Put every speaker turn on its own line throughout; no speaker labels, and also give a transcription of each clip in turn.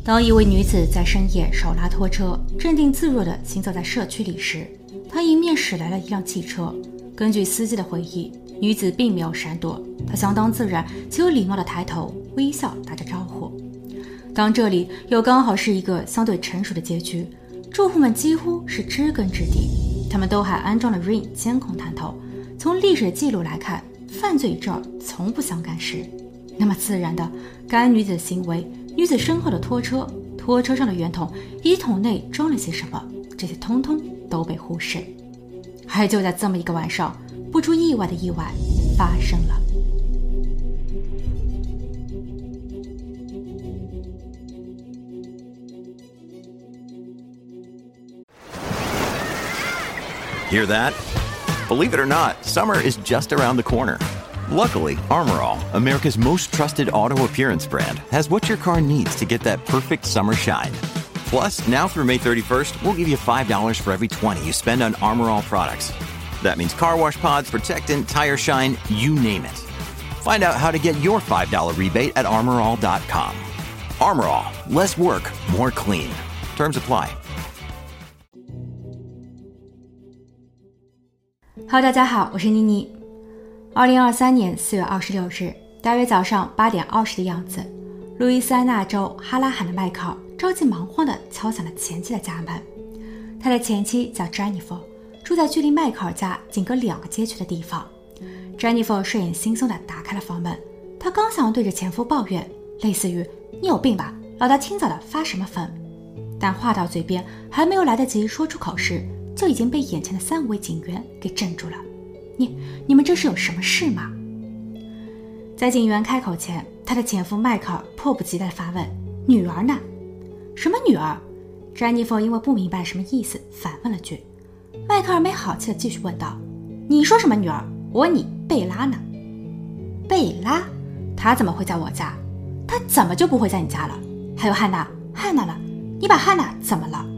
当一位女子在深夜手拉拖车，镇定自若地行走在社区里时，她迎面驶来了一辆汽车。根据司机的回忆，女子并没有闪躲，她相当自然且有礼貌地抬头微笑打着招呼。当这里又刚好是一个相对成熟的街区，住户们几乎是知根知底，他们都还安装了 Ring 监控探头。从历史记录来看，犯罪与这儿从不相干时，那么自然的该女子的行为，女子身后的拖车，拖车上的圆筒以及桶内装了些什么，这些通通都被忽视。而就在这么一个晚上，不出意外的意外发生了。
Hear that? Believe it or not, summer is just around the corner. Luckily, Armor All, America's most trusted auto appearance brand, has what your car needs to get that perfect summer shine. Plus, now through May 31st, we'll give you $5 for every $20 you spend on Armor All products. That means car wash pods, protectant, tire shine, you name it. Find out how to get your $5 rebate at armorall.com. Armor All, less work, more clean. Terms apply.
Hello， 大家好，我是妮妮。2023年4月26日，大约早上8点20的样子，路易斯安那州哈拉罕的迈克尔着急忙慌地敲响了前妻的家门。他的前妻叫 Jennifer， 住在距离迈克尔家仅隔2个街区的地方。Jennifer 睡眼惺忪地打开了房门，她刚想对着前夫抱怨，类似于“你有病吧，老大清早的发什么疯”，但话到嘴边还没有来得及说出口时，就已经被眼前的3位警员给镇住了。你们这是有什么事吗？在警员开口前，他的前夫迈克尔迫不及待地发问：“女儿呢？”“什么女儿？” Jennifer 因为不明白什么意思，反问了句。迈克尔没好气地继续问道：“你说什么女儿？我问你，贝拉呢？”“贝拉？她怎么会在我家？她怎么就不会在你家了？还有汉娜呢？你把汉娜怎么了？”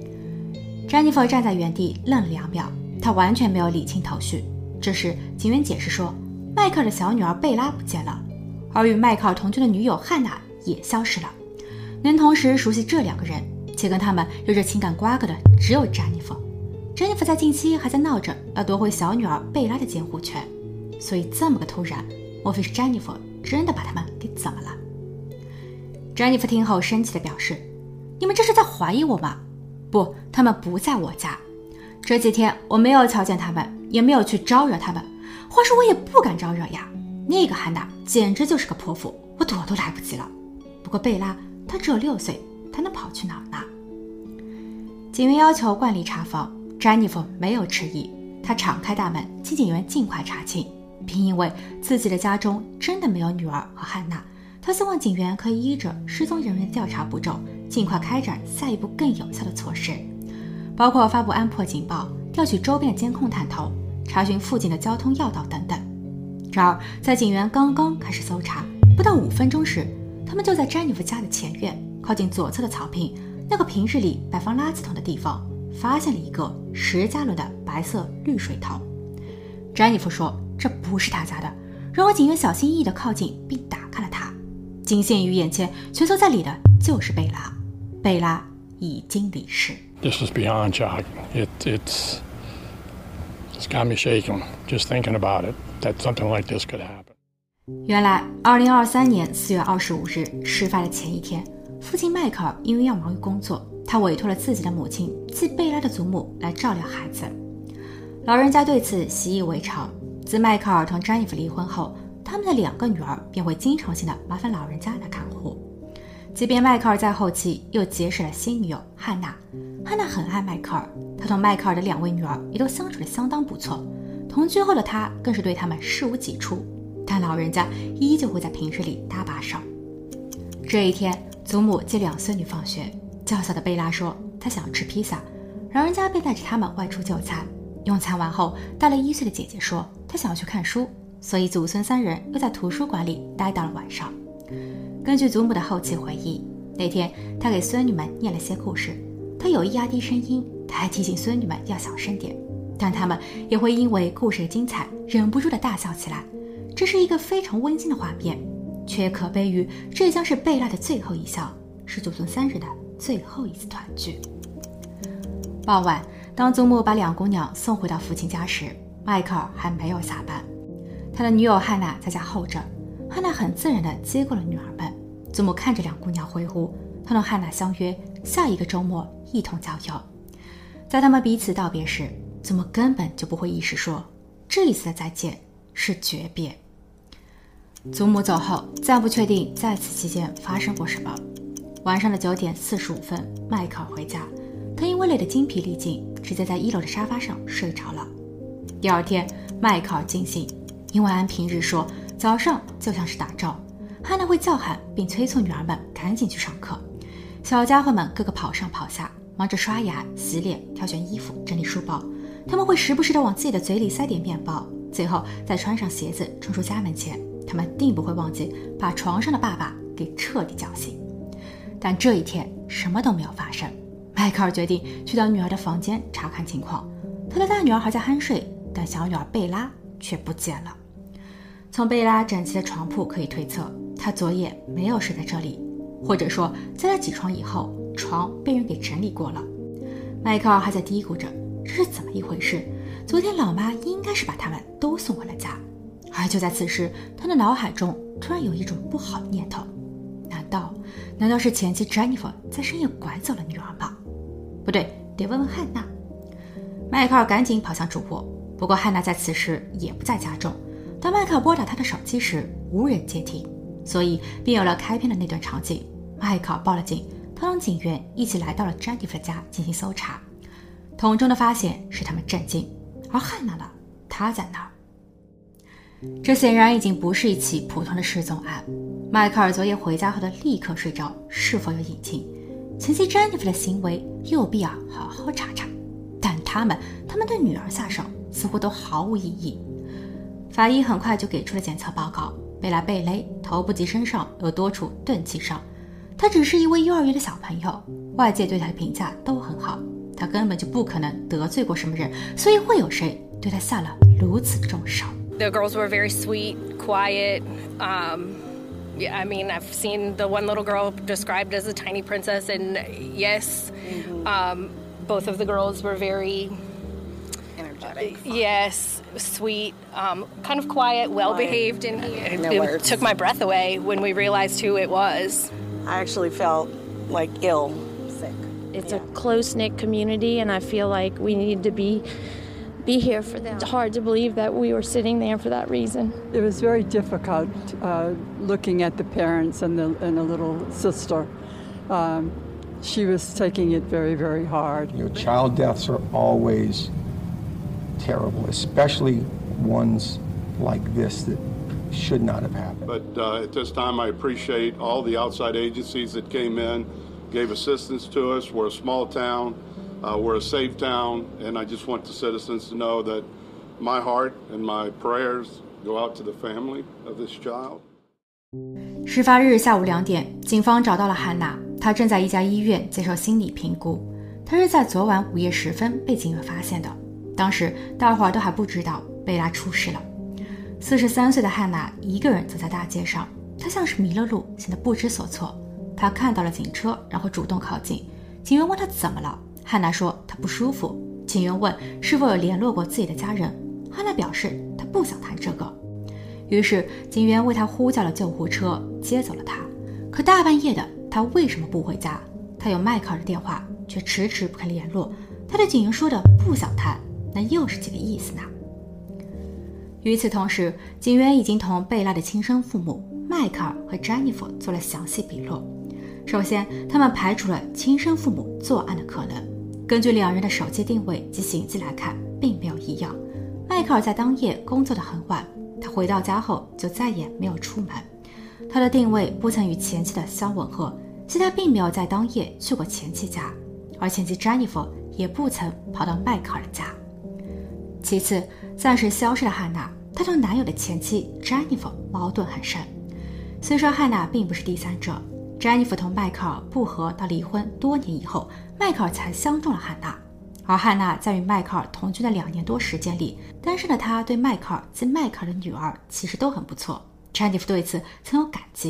Jennifer 站在原地愣了2秒，她完全没有理清头绪。这时警员解释说，迈克尔的小女儿贝拉不见了，而与迈克尔同居的女友汉娜也消失了。能同时熟悉这2个人且跟他们有着情感瓜葛的只有 Jennifer 在近期还在闹着要夺回小女儿贝拉的监护权，所以这么个突然，莫非是 Jennifer 真的把他们给怎么了？ Jennifer 听后生气地表示，你们这是在怀疑我吗？不，他们不在我家。这几天我没有瞧见他们，也没有去招惹他们。话说我也不敢招惹呀。那个汉娜简直就是个泼妇，我躲都来不及了。不过贝拉，她只有6岁，她能跑去哪儿呢？警员要求惯例查房， Jennifer 没有迟疑，她敞开大门，请警员尽快查清，并因为自己的家中真的没有女儿和汉娜，她希望警员可以依着失踪人员的调查步骤，尽快开展下一步更有效的措施，包括发布安珀警报、调取周边的监控探头、查询附近的交通要道等等。然而在警员刚刚开始搜查不到5分钟时，他们就在 Jennifer 家的前院靠近左侧的草坪那个平日里摆放垃圾桶的地方，发现了一个10加仑的白色滤水桶。 Jennifer 说这不是他家的，然而警员小心翼翼地靠近并打开了它，惊现于眼前蜷缩在里的就是贝拉。贝拉已经离世。
This is beyond shocking. It's got me shaking just thinking about it, that something like this could happen.
原来2023年4月25日事发的前一天，父亲迈克尔因为要忙于工作，他委托了自己的母亲即贝拉的祖母来照料孩子。老人家对此习以为常，自迈克尔同 Jennifer 离婚后，他们的2个女儿便会经常性的麻烦老人家来看护。即便迈克尔在后期又结识了新女友汉娜，汉娜很爱迈克尔，他同迈克尔的2位女儿也都相处得相当不错，同居后的他更是对他们事无己出，但老人家依旧会在平日里搭把手。这一天，祖母接2孙女放学，较小的贝拉说她想要吃披萨，老人家便带着他们外出就餐。用餐完后，大了1岁的姐姐说她想要去看书，所以祖孙3人又在图书馆里待到了晚上。根据祖母的后期回忆，那天她给孙女们念了些故事，她有意压低声音，她还提醒孙女们要小声点，但他们也会因为故事的精彩忍不住地大笑起来。这是一个非常温馨的画面，却可悲于这将是贝拉的最后一笑， 是祖宗3日的最后一次团聚。傍晚，当祖母把2姑娘送回到父亲家时，迈克尔还没有下班。他的女友汉娜在家候着，汉娜很自然地接过了女儿们。祖母看着2姑娘挥呼，她同汉娜相约下一个周末一同郊游。在他们彼此道别时，祖母根本就不会意识说，这一次的再见是诀别。祖母走后，暂不确定在此期间发生过什么。晚上的9点45分，迈克尔回家，他因为累得精疲力尽，直接在1楼的沙发上睡着了。第二天，迈克尔惊醒，因为按平日说，早上就像是打仗，汉娜会叫喊并催促女儿们赶紧去上课。小家伙们个个跑上跑下，忙着刷牙、洗脸、挑选衣服、整理书包。他们会时不时地往自己的嘴里塞点面包，最后再穿上鞋子冲出家门前。他们定不会忘记把床上的爸爸给彻底叫醒。但这一天什么都没有发生。迈克尔决定去到女儿的房间查看情况。他的大女儿还在酣睡，但小女儿贝拉却不见了。从贝拉整齐的床铺可以推测，她昨夜没有睡在这里，或者说在她起床以后，床被人给整理过了。迈克尔还在嘀咕着这是怎么一回事，昨天老妈应该是把他们都送回了家。而就在此时，他的脑海中突然有一种不好的念头，难道是前妻 Jennifer 在深夜拐走了女儿吗？不对，得问问汉娜。迈克尔赶紧跑向主卧，不过汉娜在此时也不在家中。当迈克尔拨打他的手机时，无人接听，所以便有了开篇的那段场景。迈克尔报了警，他同警员一起来到了 Jennifer 家进行搜查。桶中的发现使他们震惊，而汉娜呢？她在哪儿？这显然已经不是一起普通的失踪案。迈克尔昨夜回家后的立刻睡着，是否有隐情？前妻 Jennifer 的行为有必要好好查查。但他们对女儿下手似乎都毫无意义。法医很快就给出了检测报告，贝拉被勒，头部及身上有多处钝器伤。他只是一位幼儿园的小朋友，外界对他的评价都很好，他根本就不可能得罪过什么人，所以会有谁对他下了如此重手
？The girls were very sweet, quiet. Yeah, I mean, I've seen the one little girl described as a tiny princess, and yes, both of the girls were very energetic. Yes, sweet, kind of quiet, well-behaved, and it took my breath away when we realized who it was.
I actually felt like ill, sick.
It's a close-knit community, and I feel like we need to be here for them. It's hard to believe that we were sitting there for that reason.
It was very difficult looking at the parents and the little sister. She was taking it very, very hard.
Child deaths are always terrible, especially ones like this that should not have happened.
But at this time, I appreciate all the outside agencies that came in, gave assistance to us. We're a small town. We're a safe town, and I just want the citizens to know that my heart and my prayers go out to the family of this child.
事发日下午2点，警方找到了汉娜，她正在一家医院接受心理评估。她是在昨晚午夜时分被警员发现的，当时大伙儿都还不知道贝拉出事了。43岁的汉娜一个人走在大街上，她像是迷了路，显得不知所措。她看到了警车，然后主动靠近。警员问她怎么了，汉娜说她不舒服。警员问是否有联络过自己的家人，汉娜表示她不想谈这个。于是警员为她呼叫了救护车，接走了她。可大半夜的，她为什么不回家？她有迈克尔的电话，却迟迟不肯联络。她对警员说的不想谈，那又是几个意思呢？与此同时，警员已经同贝拉的亲生父母迈克尔和 Jennifer 做了详细笔录。首先，他们排除了亲生父母作案的可能。根据2人的手机定位及行迹来看，并没有异样。迈克尔在当夜工作得很晚，他回到家后就再也没有出门。他的定位不曾与前妻的相吻合，即他并没有在当夜去过前妻家，而前妻 Jennifer 也不曾跑到迈克尔的家。其次，暂时消失的汉娜，她同男友的前妻 Jennifer 矛盾很深。虽说汉娜并不是第三者， Jennifer 同迈克尔不和到离婚多年以后，迈克尔才相中了汉娜。而汉娜在与迈克尔同居的2年多时间里，单身的她对迈克尔及迈克尔的女儿其实都很不错。 Jennifer 对此曾有感激。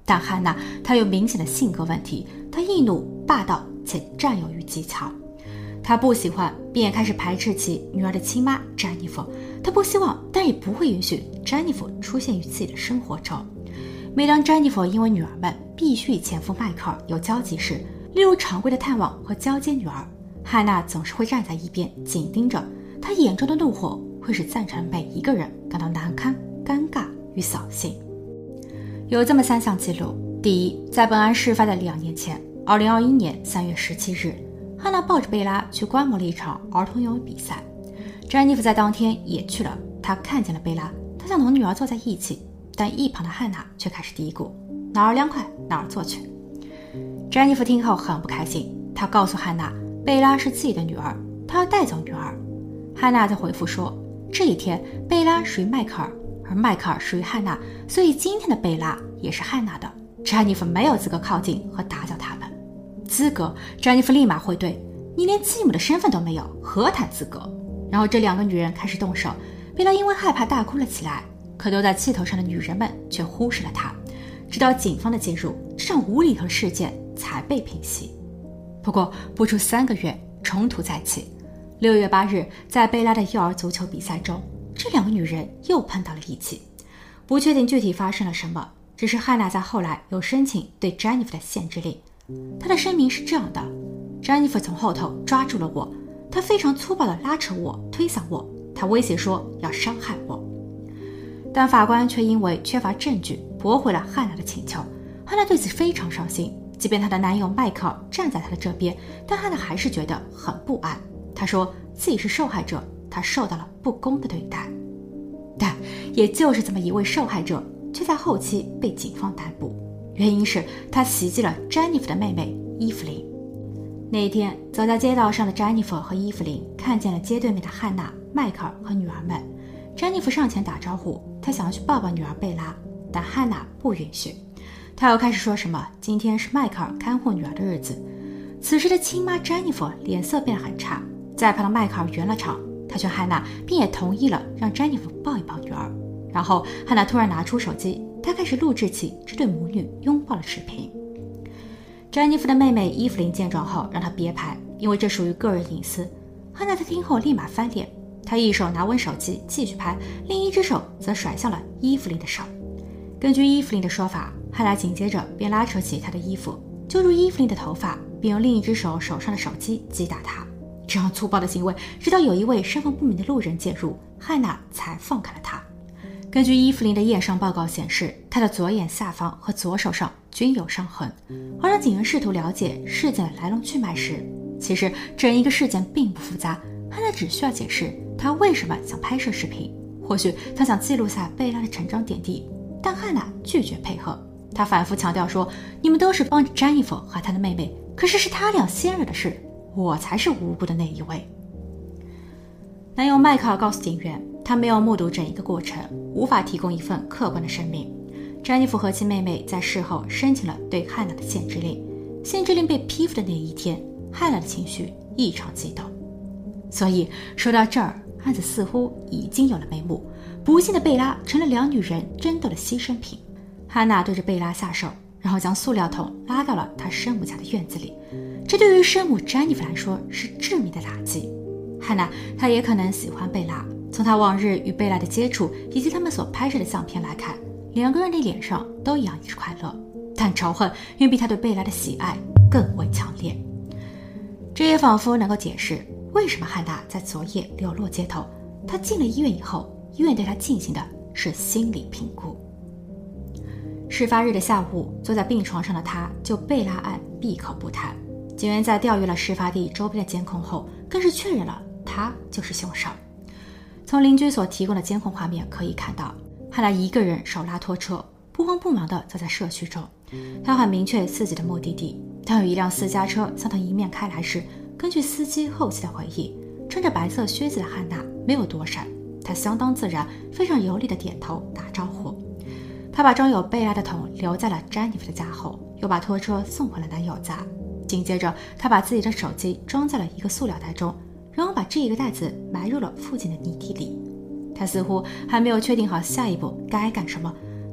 但汉娜她有明显的性格问题，她易怒、霸道且占有欲极强。她不喜欢并也开始排斥其女儿的亲妈詹妮弗，她不希望但也不会允许詹妮弗出现于自己的生活中。每当詹妮弗因为女儿们必须与前夫迈克尔有交集时，例如常规的探望和交接女儿，汉娜总是会站在一边紧盯着，她眼中的怒火会使在场的每一个人感到难堪、尴尬与扫兴。有这么3项记录：第一，在本案事发的2年前，2021年3月17日，汉娜抱着贝拉去观摩了一场儿童游泳比赛。詹妮弗在当天也去了，她看见了贝拉，她想同女儿坐在一起，但一旁的汉娜却开始嘀咕：哪儿凉快哪儿坐去。詹妮弗听后很不开心，她告诉汉娜，贝拉是自己的女儿，她要带走女儿。汉娜在回复说，这一天贝拉属于迈克尔，而迈克尔属于汉娜，所以今天的贝拉也是汉娜的。詹妮弗没有资格靠近和打搅他们。资格？詹妮弗立马回怼：你连继母的身份都没有，何谈资格？然后这2个女人开始动手，贝拉因为害怕大哭了起来，可都在气头上的女人们却忽视了她。直到警方的介入，这场无厘头事件才被平息。不过不出3个月，冲突再起。6月8日，在贝拉的幼儿足球比赛中，这2个女人又碰到了一起。不确定具体发生了什么，只是汉娜在后来有申请对詹妮弗的限制令。她的声明是这样的：詹妮弗从后头抓住了我，她非常粗暴地拉扯我、推搡我，她威胁说要伤害我。但法官却因为缺乏证据驳回了汉娜的请求。汉娜对此非常伤心，即便她的男友迈克尔站在她的这边，但汉娜还是觉得很不安。她说自己是受害者，她受到了不公的对待。但也就是这么一位受害者，却在后期被警方逮捕，原因是他袭击了詹妮弗的妹妹伊芙琳。那一天，走在街道上的詹妮弗和伊芙琳看见了街对面的汉娜、迈克尔和女儿们。詹妮弗上前打招呼，她想要去抱抱女儿贝拉，但汉娜不允许。她又开始说什么今天是迈克尔看护女儿的日子。此时的亲妈詹妮弗脸色变得很差，在旁的迈克尔圆了场，他劝汉娜，并也同意了让詹妮弗抱一抱女儿。然后汉娜突然拿出手机，她开始录制起这对母女拥抱的视频。詹妮弗的妹妹伊芙琳见状后让她别拍，因为这属于个人隐私。汉娜在听后立马翻脸，她一手拿稳手机继续拍，另一只手则甩向了伊芙琳的手。根据伊芙琳的说法，汉娜紧接着便拉扯起她的衣服，揪住伊芙琳的头发，并用另一只手上的手机击打她。这样粗暴的行为，直到有一位身份不明的路人介入，汉娜才放开了她。根据伊芙琳的验伤报告显示，她的左眼下方和左手上均有伤痕。而当警员试图了解事件的来龙去脉时，其实整一个事件并不复杂，汉娜只需要解释她为什么想拍摄视频，或许她想记录下贝拉的成长点滴，但汉娜拒绝配合。她反复强调说，你们都是帮着詹妮弗和她的妹妹，可是是她俩先惹的事，我才是无辜的那一位。男友迈克尔告诉警员，他没有目睹整一个过程，无法提供一份客观的声明。詹妮弗和其妹妹在事后申请了对汉娜的限制令。限制令被批复的那一天，汉娜的情绪异常激动。所以说到这儿，案子似乎已经有了眉目。不幸的贝拉成了2女人争斗的牺牲品。汉娜对着贝拉下手，然后将塑料桶拉到了她生母家的院子里。这对于生母詹妮弗来说是致命的打击。汉娜她也可能喜欢贝拉，从她往日与贝拉的接触以及他们所拍摄的相片来看，2个人的脸上都洋溢着快乐，但仇恨远比她对贝拉的喜爱更为强烈。这也仿佛能够解释为什么汉娜在昨夜流落街头。她进了医院以后，医院对她进行的是心理评估。事发日的下午，坐在病床上的她就贝拉案闭口不谈。警员在调阅了事发地周边的监控后，更是确认了他就是凶手。从邻居所提供的监控画面可以看到，汉娜一个人手拉拖车，不慌不忙地走在社区中。他很明确自己的目的地。当有一辆私家车向他迎面开来时，根据司机后期的回忆，穿着白色靴子的汉娜没有躲闪，她相当自然，非常有礼地点头打招呼。她把装有贝拉的桶留在了詹妮弗的家后，又把拖车送回了男友家。紧接着，她把自己的手机装在了一个塑料袋中，然后把这一个袋子埋入了附近的泥地里。她似乎还没有确定好下一步该干什么，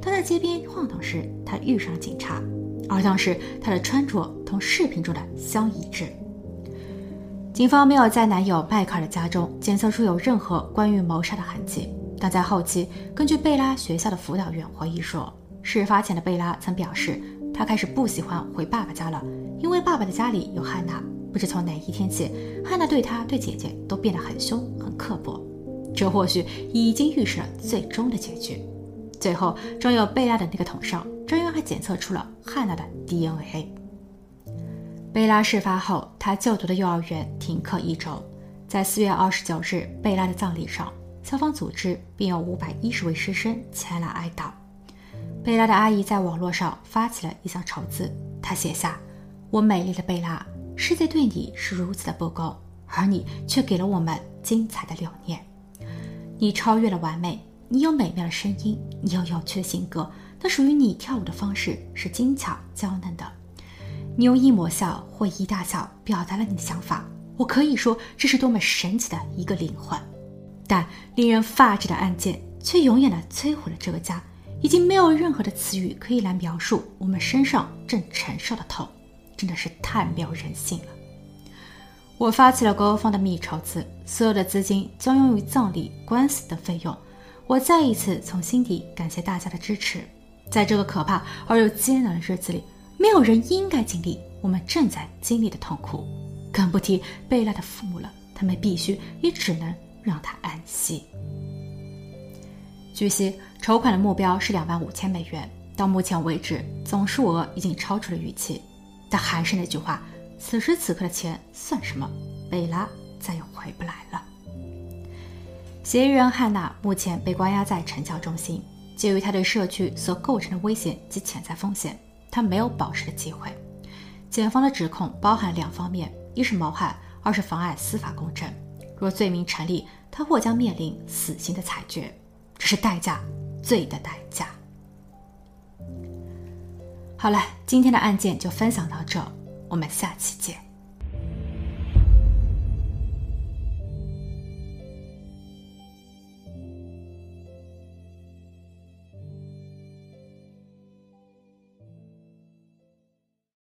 他在街边晃荡时，他遇上了警察，而当时他的穿着同视频中的相一致。警方没有在男友迈克尔的家中检测出有任何关于谋杀的痕迹，但在后期，根据贝拉学校的辅导员回忆说，事发前的贝拉曾表示，她开始不喜欢回爸爸家了，因为爸爸的家里有汉娜。不知从哪一天起，汉娜对她对姐姐都变得很凶很刻薄，这或许已经预示了最终的结局。最后装有贝拉的那个桶上，专员还检测出了汉娜的 DNA。 贝拉事发后，她就读的幼儿园停课1周。在4月29日贝拉的葬礼上，消防组织并有510位师生前来哀悼。贝拉的阿姨在网络上发起了一项筹资，她写下：我美丽的贝拉，世界对你是如此的不公，而你却给了我们精彩的6年。你超越了完美，你有美妙的声音，你有有趣的性格，但属于你跳舞的方式是精巧娇嫩的。你用一抹笑或一大笑表达了你的想法，我可以说这是多么神奇的一个灵魂。但令人发指的案件却永远地摧毁了这个家，已经没有任何的词语可以来描述我们身上正承受的痛，真的是太没有人性了。我发起了GoFundMe筹资，所有的资金将用于葬礼、官司等费用。我再一次从心底感谢大家的支持。在这个可怕而又艰难的日子里，没有人应该经历我们正在经历的痛苦，更不提贝拉的父母了，他们必须也只能让他安息。据悉，筹款的目标是25000美元，到目前为止，总数额已经超出了预期。但还是那句话，此时此刻的钱算什么？贝拉再也回不来了。嫌疑人汉娜目前被关押在惩教中心，基于她对社区所构成的危险及潜在风险，她没有保释的机会。检方的指控包含2方面，一是谋害，二是妨碍司法公正。若罪名成立，她或将面临死刑的裁决，这是代价，罪的代价。好了，今天的案件就分享到这，我们下期见。